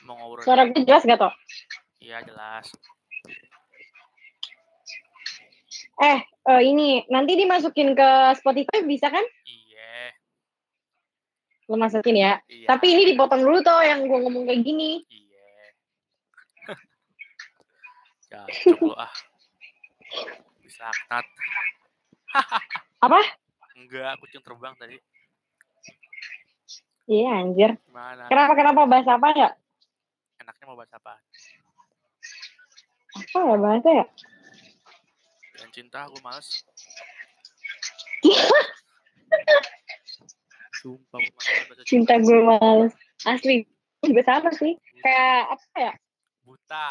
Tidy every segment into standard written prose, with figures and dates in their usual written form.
Mau ngobrol. Suara gue jelas gak, Tok? Iya, jelas. Ini nanti dimasukin ke Spotify bisa kan? Iya. Lo masukin ya. Iya. Tapi ini dipotong dulu toh yang gue ngomong kayak gini. Iya. Cocok lo ah. Bisa aknat. Apa? Enggak, kucing terbang tadi. Iya anjir. Gimana? Kenapa bahas apa ya? Enaknya mau bahas apa? Apa ya bahasnya ya? Dan cinta aku males. Sumpah aku males bahasa Cinta gue males. Asli juga sama sih. Kayak apa ya? Buta.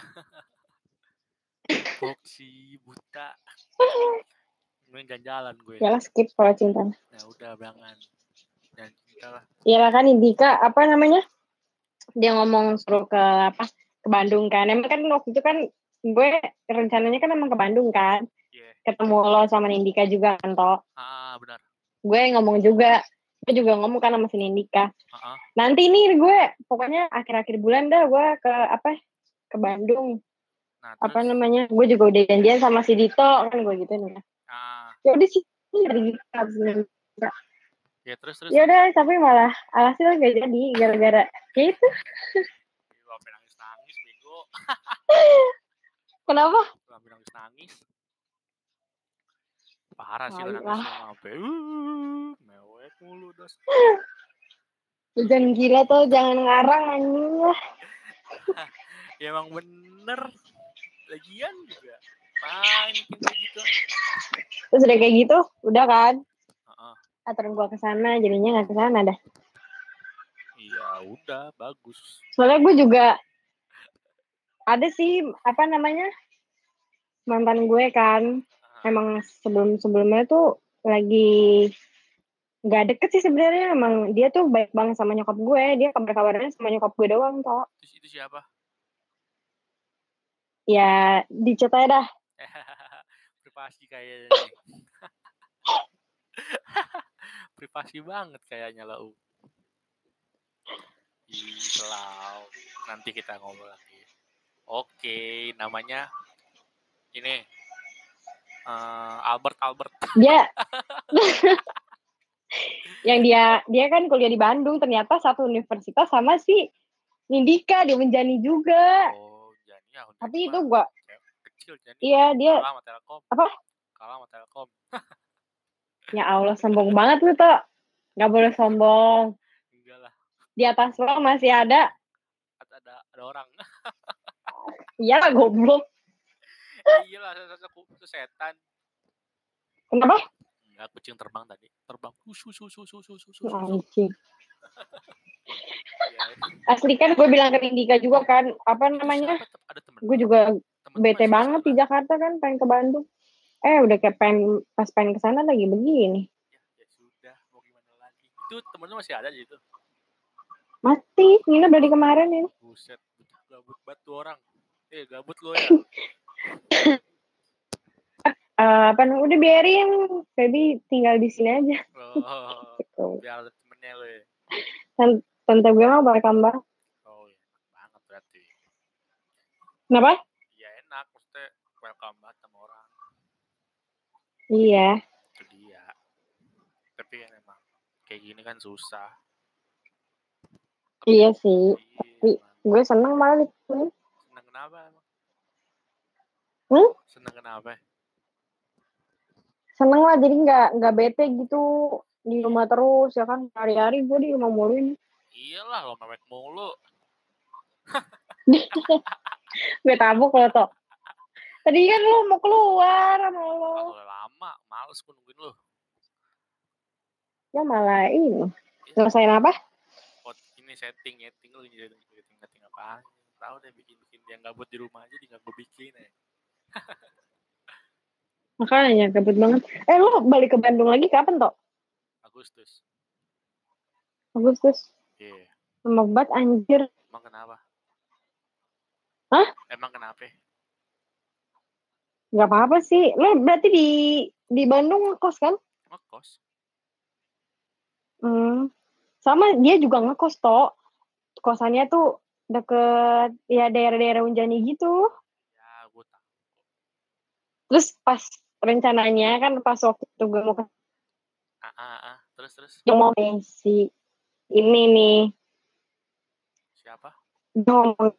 Foxy buta. Gue gak jalan gue. Ya lah skip kalau cinta. Ya udah jangan. Dan cinta lah. Iya kan Indika apa namanya? Dia ngomong suruh ke Bandung kan. Emang kan waktu itu kan gue rencananya kan emang ke Bandung kan. Yeah. Ketemu lo sama Indika juga kan toh. Benar. Gue ngomong juga. Gue juga ngomong kan sama si Indika. Nanti nih gue pokoknya akhir-akhir bulan dah gue ke Bandung. Nah, apa namanya? Gue juga udah janjian sama si Dito kan gue gitu nih. Ya udah sih dari ya terus. Ya udah tapi malah alhasil gak jadi gara-gara ya itu. Gue sampai nangis bego. Kenapa? Gue sampai nangis. Parah sih lo nangisnya sampai mewek mulu dos. Jangan gila tuh, jangan ngarang anjing lah. Ya emang bener. Lagian juga main kayak gitu. Terus udah kayak gitu, udah kan? Aturan gue kesana, jadinya nggak kesana dah. Iya udah bagus. Soalnya gue juga ada sih apa namanya mantan gue kan, emang sebelumnya tuh lagi nggak deket sih sebenarnya. Emang dia tuh baik banget sama nyokap gue, dia kabar-kabarnya sama nyokap gue doang toh. Itu siapa? Ya dicat aja dah. Privasi kayaknya. Privasi banget kayaknya lah. Selalu nanti kita ngobrol lagi. Oke, namanya ini Albert. Dia yang dia kan kuliah di Bandung, ternyata satu universitas sama si Nindika, dia menjani juga. Oh, Jani ya. Tapi itu gua kecil Jani. Iya, dia kalah sama Telkom. Apa? Kalah sama Telkom. Ya Allah, sombong banget lu tuh. Gak boleh sombong. Enggak lah. Di atas lo masih ada orang. Iyalah goblok. Iyalah, setan. Kenapa? Enggak, kucing terbang tadi. Terbang. Anjing. Asli kan gue bilang ke Indika juga kan, apa namanya? Gue juga bete banget di Jakarta kan, pengen ke Bandung. Udah kayak pas pengen kesana lagi begini. Ya sudah, mau gimana lagi? Itu temen lu masih ada di situ? Masih, Nina dari kemarin ini. Buset, gabut banget tuh orang. Gabut lo ya. Udah biarin, Feby tinggal di sini aja. Gitu. Biar ada temennya lo ya. Tante gue mah berkambah. Oh iya, enak banget berarti. Kenapa? Iya enak, maksudnya welcome banget sama orang. Iya. Itu dia. Tapi kan emang kayak gini kan susah. Iya sih. Tapi gue seneng malah itu. Seneng kenapa emang? Seneng kenapa? Seneng lah, jadi nggak bete gitu di rumah terus ya kan. Hari-hari gue di rumah mulu ini. Iyalah, lo mewek mulu. Gue tabuk lo toh. Tadi kan lo mau keluar sama lo. Lama, males gue nungguin lo. Ya malah ini. Ngerasain apa? Ini setting lo setting apa? Tahu deh bikin dia gabut di rumah aja, tinggal gue bikin ya. Makanya gabut banget. Lo balik ke Bandung lagi kapan toh? Agustus. Iya. Lama banget anjir. Emang kenapa? Hah? Emang kenapa? Gak apa-apa sih. Lo berarti di Bandung ngekos kan? Ngekos. Sama dia juga ngekos toh. Kosannya tuh deket ya daerah-daerah Unjani gitu. Ya, gue tahu. Terus pas rencananya kan pas waktu itu gue mau ke Terus. yang mau nih si ini nih Siapa? ngomong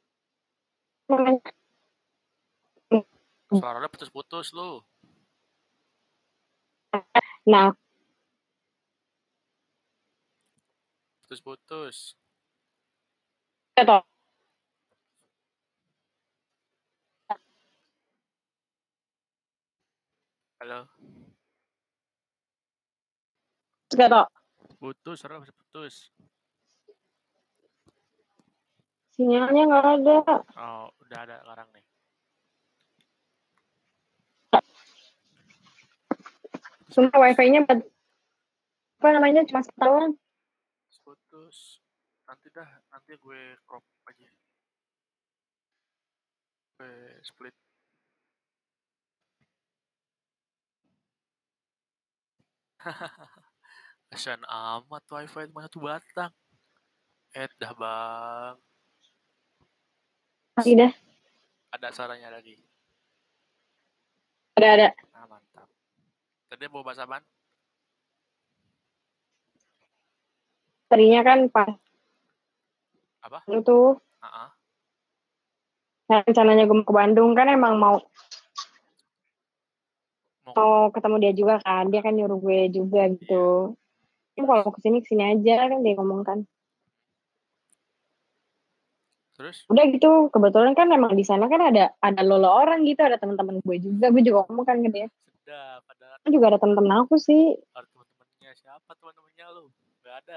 Suara lo putus-putus lu. nah Putus-putus. kata Halo. kata Putus, suara lo putus. sinyalnya nggak ada. Oh, udah ada sekarang nih. Sumpah wifi-nya apa namanya cuma setahun. Putus. Nanti gue crop aja. Gue split. Kasian amat wifi cuma 1 batang. Dah bang. Lagi dah Ada suaranya lagi. ada Ah, mantap. Tadi mau bahas apaan? tadinya kan pas Apa? itu rencananya gue mau ke Bandung kan emang mau ketemu dia juga kan, dia kan nyuruh gue juga gitu. Iya. Kalau mau kesini aja kan dia ngomong kan. Terus? Udah gitu, kebetulan kan emang di sana kan ada lolo orang gitu, ada teman-teman gue juga ngomong kan ke dia. Sedap, ada. Kan juga ada teman-teman aku sih. Ada teman-temannya siapa teman-temannya lu? Gak ada.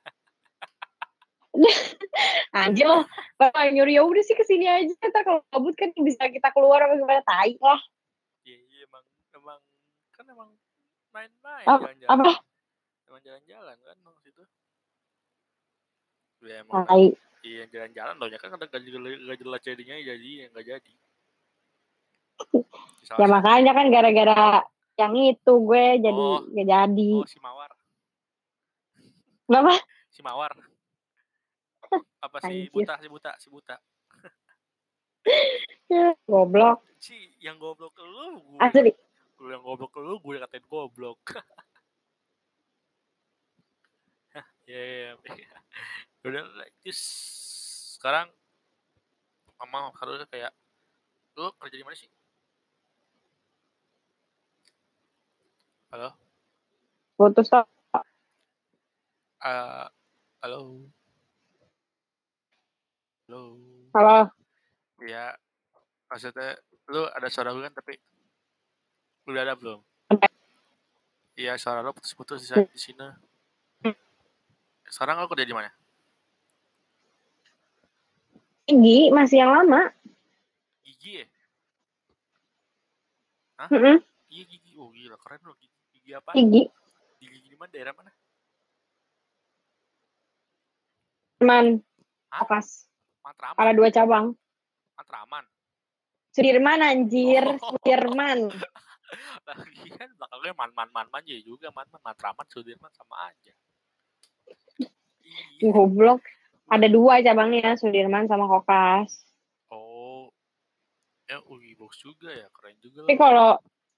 Anjir lah, kalau nyuruh ya udah sih kesini aja. Kita kalau kabut kan bisa kita keluar apa gimana tai lah. Iya emang main-main jalan-jalan. Apa? Emang jalan-jalan kan waktu itu. Ya emang Tai. iya jalan-jalan loh ya kan ada gak jelas jadinya jadi nggak jadi. Ya makanya kan gara-gara yang itu gue jadi gak jadi. Oh si Mawar. Kenapa? Si Mawar. Apa si Anjir. buta. Goblok. Si yang goblok lu gue. Asli. Lu yang goblok lu gue katain goblok. Ya. Udah just sekarang mama harusnya kayak lu kerja di mana sih? Halo? Putus toh. Halo? Halo. Ya, maksudnya lu ada suara gue kan tapi lu udah ada belum? Iya, suara lu putus-putus di sini. Sekarang lu kerja di mana? Gigi masih yang lama. Gigi ya? Hah? Iya gigi. Oh gila keren lu. Gigi apa? Gigi. Gigi di mana? Daerah mana? Matraman. Hah? Kokas. Matraman. Ada 2 cabang. Matraman. Sudirman anjir. Sudirman. Lagi kan belakangnya man aja juga Matraman Sudirman sama aja. Goblok. Ada 2 cabangnya, Sudirman sama Kokas. Oh. Box juga ya, keren juga. Tapi kalau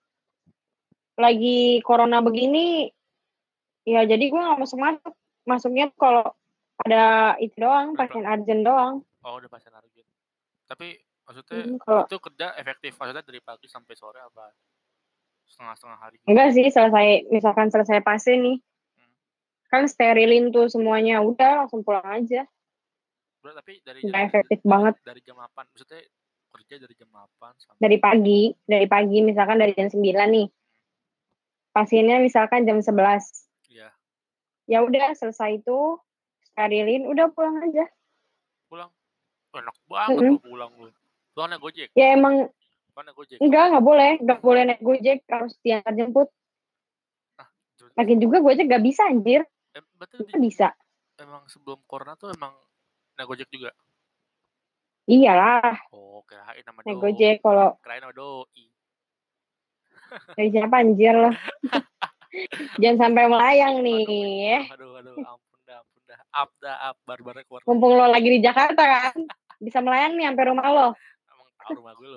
lagi corona begini, ya jadi gue gak masuk. Masuknya kalau ada itu doang, pasien urgent doang. Oh, udah pasien urgent. Tapi maksudnya itu kerja efektif, maksudnya dari pagi sampai sore apa? Setengah-setengah hari? Enggak sih, misalkan selesai pasien nih. Kan sterilin tuh semuanya, udah langsung pulang aja. Udah, tapi udah efektif banget. Dari jam 8, maksudnya kerja dari jam 8 sampai dari pagi misalkan dari jam 9 nih. Pasiennya misalkan jam 11. Iya. Ya udah selesai itu sterilin, udah pulang aja. Pulang? Enak banget lo pulang lu. Pulang naik Gojek? Ya emang naik Gojek? Enggak boleh naik Gojek, harus diantar jemput. Lagi juga Gojek gak bisa anjir. Betul bisa. Emang sebelum corona tuh emang naik Gojek juga? Iyalah. Oh, kirain nama naik Gojek kalau kirain nama doi. Dari siapa anjir lo? Jangan sampai melayang nih. Aduh, ampun dah. up barbarnya keluar. Mumpung lo lagi di Jakarta kan, bisa melayani sampai rumah lo. Emang tahu rumah gue lo.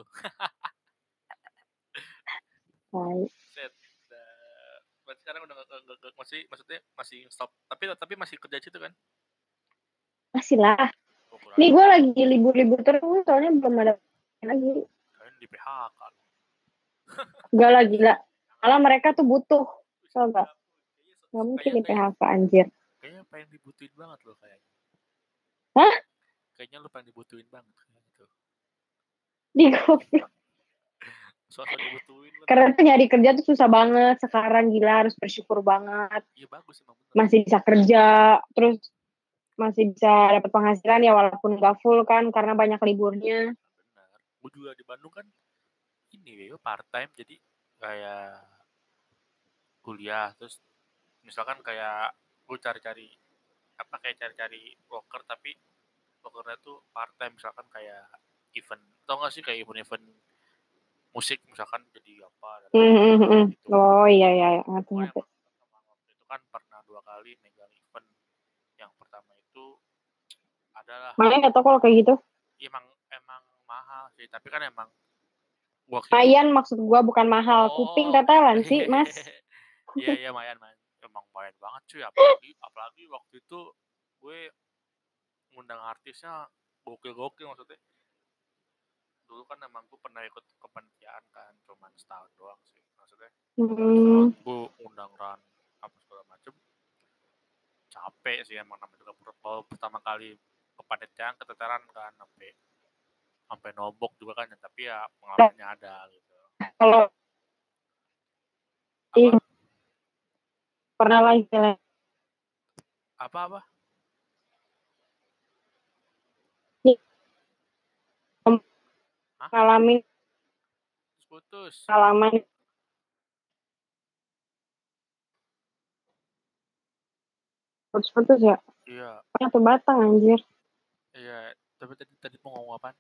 Set. Berarti sekarang udah nggak maksudnya masih stop. Tapi masih kerja situ kan? Masih lah. Nih gue lagi libur-libur terus, soalnya belum ada lagi. Kalian di PHK. Gak lah, gila. Malah mereka tuh butuh. Tau gak? Gak mungkin di PHK, anjir. Kayaknya pengen dibutuhin banget loh kayaknya. Hah? Kayaknya lo pengen dibutuhin banget gitu. Di goblok. Soal dibutuhin. Karena tuh nyari kerja tuh susah banget sekarang, gila, harus bersyukur banget. Iya bagus emang bener. Masih bisa kerja, terus masih bisa dapat penghasilan ya walaupun gak full kan karena banyak liburnya. Benar. Gue juga di Bandung kan ini part time, jadi kayak kuliah terus misalkan kayak gue cari-cari worker, tapi workernya tuh part time, misalkan kayak event, tau gak sih kayak event musik misalkan jadi apa gitu. Oh iya ngerti. Waktu itu kan pernah 2 kali megang event. Yang pertama itu adalah makanya gak tau kalau kayak gitu. Emang mahal sih, tapi kan emang Mayan maksud gua, bukan mahal. Kuping tetelan sih mas. Iya mayan emang mayan banget cuy, apalagi waktu itu gue ngundang artisnya gokil maksudnya. Dulu kan emang gue pernah ikut kepanitiaan kan, cuman setahun doang sih maksudnya. Setahun gue undang Ran apa segala macem, capek sih emang, namanya juga baru pertama kali kepanitiaan keteteran kan, sampai nombok juga kan, tapi ya pengalamannya ada gitu. Kalau apa pernah lah istilahnya apa ngalamin putus pengalaman putus ya. Iya. Satu batang anjir. Iya, tapi tadi mau ngomong apa?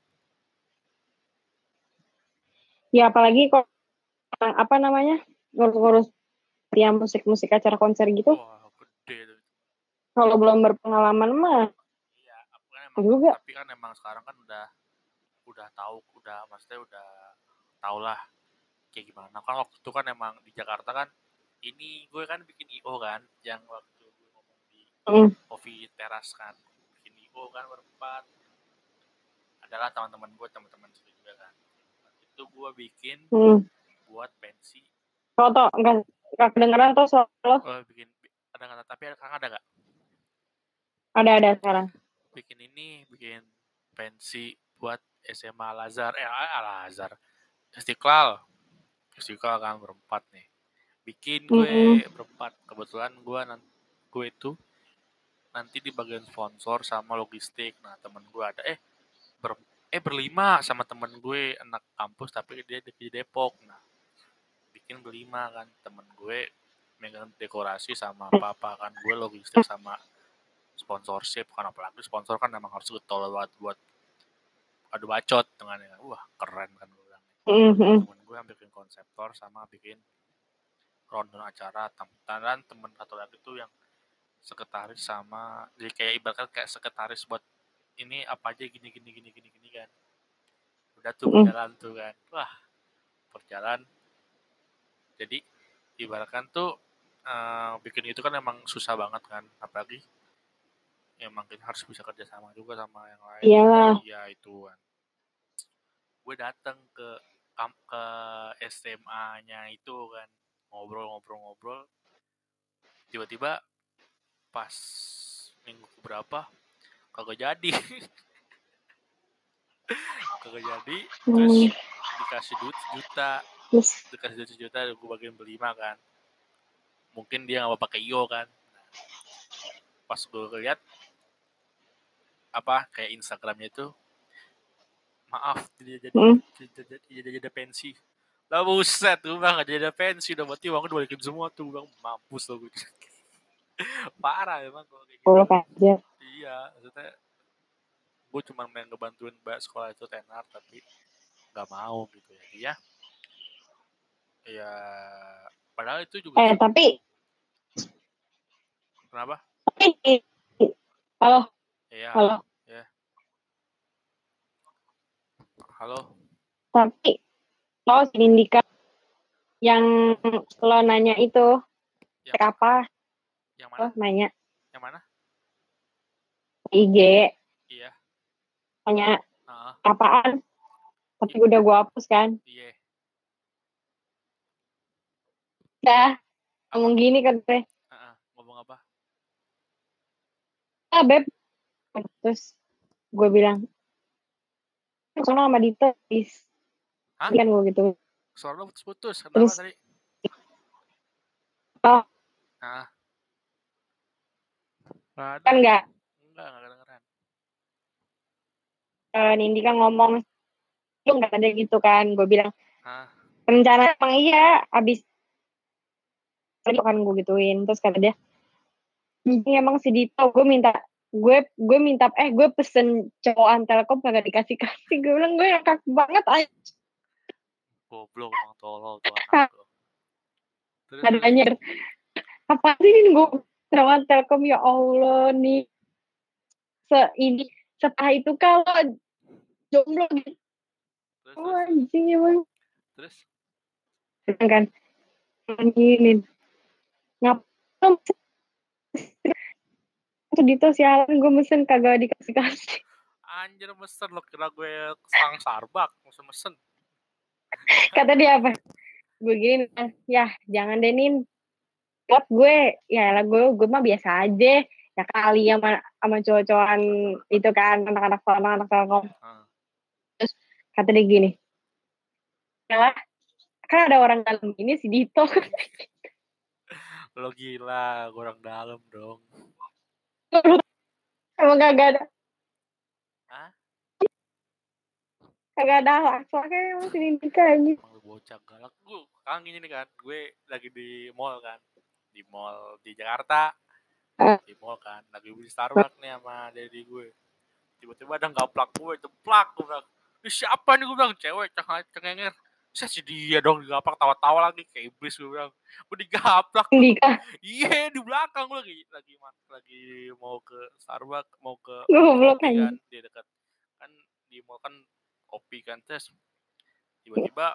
Ya apalagi kok apa namanya ngurus ya musik acara konser gitu. Wah, gede tuh. Kalau belum berpengalaman mah. Iya, kan emang juga. Tapi kan emang sekarang kan udah tahu, maksudnya udah tau lah kayak gimana. Kan waktu itu kan emang di Jakarta kan, ini gue kan bikin IO kan, yang waktu gue ngomong di coffee teras kan, bikin IO kan berempat. Adalah teman-teman sendiri juga kan. Itu gue bikin buat pensi. Foto enggak kedengeran tuh soal. Oh, bikin ada tapi sekarang ada nggak? Ada sekarang. Bikin pensi buat SMA Al-Azhar, Istiqlal kan berempat nih. Bikin gue berempat. Kebetulan gue itu nanti di bagian sponsor sama logistik. Nah, temen gue ada berlima sama temen gue anak kampus tapi dia di Depok. Nah, bikin berlima kan, temen gue megang dekorasi sama apa kan, gue logistik sama sponsorship kan, apalagi sponsor kan memang harus getol buat adu bacot dengan wah keren kan gue bilang. Temen gue yang bikin konseptor sama bikin rundown acara, dan temen satu lagi tuh yang sekretaris sama, jadi kayak ibaratnya kayak sekretaris buat ini apa aja gini kan. Udah tuh berjalan tuh kan, wah berjalan. Jadi ibaratkan tuh bikin itu kan emang susah banget kan, apalagi emang kita harus bisa kerja sama juga sama yang lain. Iya itu kan. Gue datang ke SMA-nya itu kan, ngobrol, tiba-tiba pas minggu berapa kagak jadi. Terus dikasih duit sejuta, gue bagian berlima kan, mungkin dia nggak mau pakai IO kan. Pas gue lihat kayak Instagramnya itu, maaf jadi pensi lah, buset tuh bang, gak jadi pensi udah, berarti uang gue balikin semua tuh bang, mampus lo gue. Parah emang kalau kayak gitu. Iya, maksudnya gue cuma main ngebantuin mbak sekolah itu tenar, tapi nggak mau gitu ya. Ya padahal itu juga tapi kenapa? Halo, Iya, halo. halo. Ya, halo. Tapi lo si Indika yang lo nanya itu Yang apa? yang Lo mana? nanya Yang mana? IG, Iya. tanya Heeh. apaan? Tapi udah gue hapus kan. Iya. Dah, Apa? ngomong gini kan gue. Heeh. Ngomong apa? Ah, Beb. Terus gue bilang, sono sama Dito, please. Hah? Kan gue gitu. Suara lu putus-putus. Kenapa Terus, tadi? oh, Nah, nggak ada. kan nggak. Enggak kedengeran. Nindika ngomong, lu nggak ada gitu kan. Gue bilang, Hah? rencana emang iya, abis tadi kan gue gituin. Terus kata dia, ini emang si Dito, gue pesen cowokan Telkom kagak dikasih-kasih. Gue bilang, gue ngakak banget aja. Goblok emang tolol tuh anak tuh. Terus terus. Adanya, apa sih ini gue cowokan Telkom, ya Allah nih. Ini setelah itu kalau jomblo gitu. Terus Oh, terus terus. anjing emang. Terus Sedangkan, anjingin. Ngapain tuh Dito sialan gue mesen kagak dikasih-kasih. anjir mesen lo kira gue sang sarbak mesen-mesen. Kata dia apa? Gue gini, ya jangan denin. Buat gue, ya lah gue mah biasa aja. Ya kali sama cowok-cowokan itu kan, anak-anak Telkom. Heeh. Terus kata dia gini, ya lah, kan ada orang dalam ini si Dito. Lo gila, kurang dalam dong. Emang Hah? kagak ada soalnya emang si Dito aja. Emang lu bocah galak. Gue sekarang gini nih kan, gue lagi di mall kan. Di mall di Jakarta. Di mall kan, lagi beli Starbucks nih sama daddy gue. Tiba-tiba ada gaplak gue, jeplak gue bilang. Ini siapa nih gue bilang, cewek cengenger. Saya si dia dong digaplak tawa-tawa lagi kayak iblis gue bilang. Gue digaplak tuh. Dika, Iya di belakang gue lagi mau ke Starbucks, mau ke beli goblok kopi aja. kan di dekat kan di mall kan kopi kan terus tiba-tiba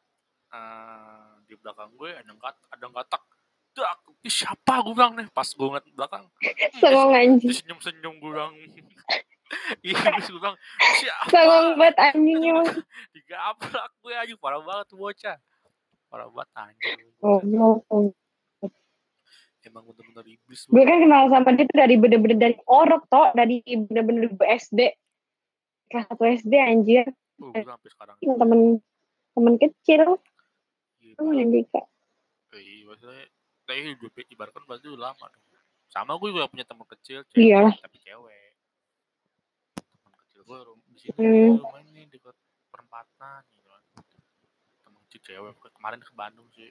di belakang gue ada yang katak dak siapa gue bilang nih pas gue ngeliat belakang Sengong anjing. senyum gue bilang iya gue bilang siapa Sengong banget anjing emang. digaplak gue aja parah banget tuh bocah parah banget anjir bocah Goblok. emang bener-bener iblis Gue bang kan kenal sama dia tuh dari bener-bener dari orok toh, dari bener-bener SD. Kelas 1 SD anjir. gue sampai sekarang juga Temen temen kecil. iya Sama bang Dika. iya maksudnya tapi hidup ibaratkan berarti udah lama dong sama gue juga punya teman kecil Iya. cewek tapi cewek teman kecil gue di sini nih Hmm. rumah ini dekat perempatan gitu kan temen kecil cewek kemarin ke Bandung sih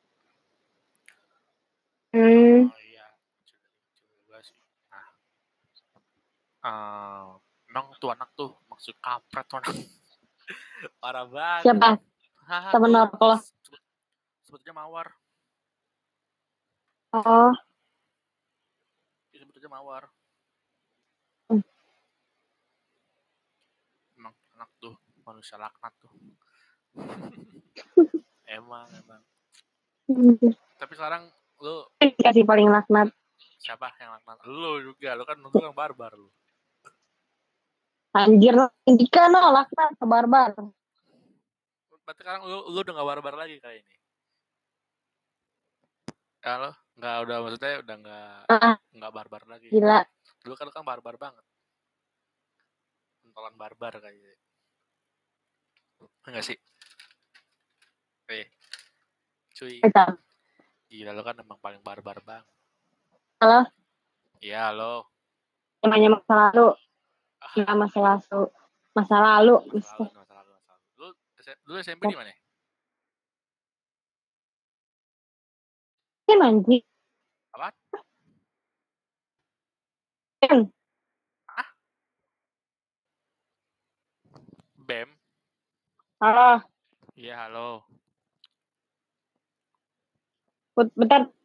Hmm. oh iya kecil kecil juga sih nah emang tuh anak tuh maksud kampret tuh anak parah banget Siapa? haha Temen tuh apa lo? sebetulnya mawar Oh. sebetulnya mawar emang anak tuh manusia laknat tuh emang tapi sekarang lu Kasih paling laknat. siapa yang laknat lu juga lu kan barbar lu Anjir, Dika no laknat ke barbar. berarti sekarang lu udah gak barbar lagi kayak ini ya lo nggak udah maksudnya udah Ah, nggak barbar lagi gila. dulu kan lu kan barbar banget pentolan barbar kayaknya enggak sih cuy Kacau. gila lo kan emang paling barbar bang Halo, iya lo namanya masa lalu. Ya, masa lalu. Masa lalu. masa lalu lu SMP di mana Kan anjing. apa Kan. ah bem Halo, iya halo bentar.